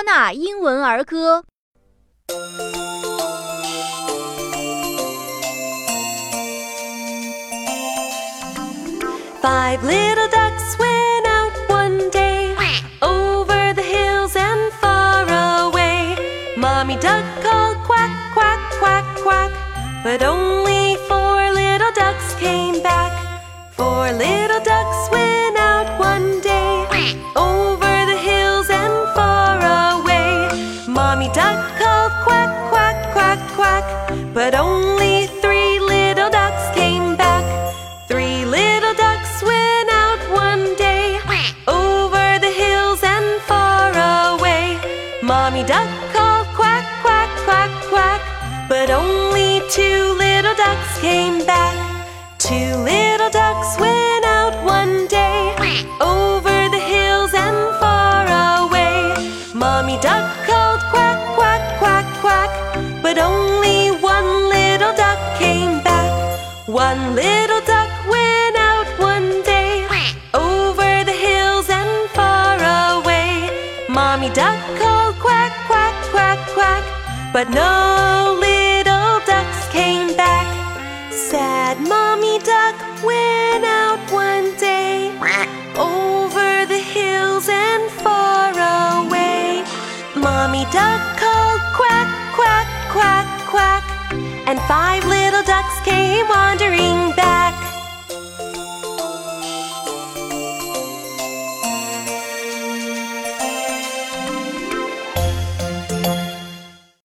纳英文儿歌。 Five little ducks went out one day, over the hills and far away. Mommy duck called quack, quack, quack, quack, but only 4 little ducks came back. 4 little ducks went out one day, over the hills and far away. Mommy duck called quack, quack, quack, quack, but only 3 little ducks came back. 3 little ducks went out one day, over the hills and far away. Mommy duck called quack, quack, quack, quack, but only 2 little ducks came back. 2 little ducks went out one day, over the hills and far away. Mommy duck called quack, quack, quack, quack, but only 1 little duck came back. 1 little duck went out one day, over the hills and far away. Mommy duck called quack, quack, quack, quack, but no little ducks came back. Sad Mommy duck went out one day, over the hills and far away. Mommy duck called quack, quack, quack, quack, and 5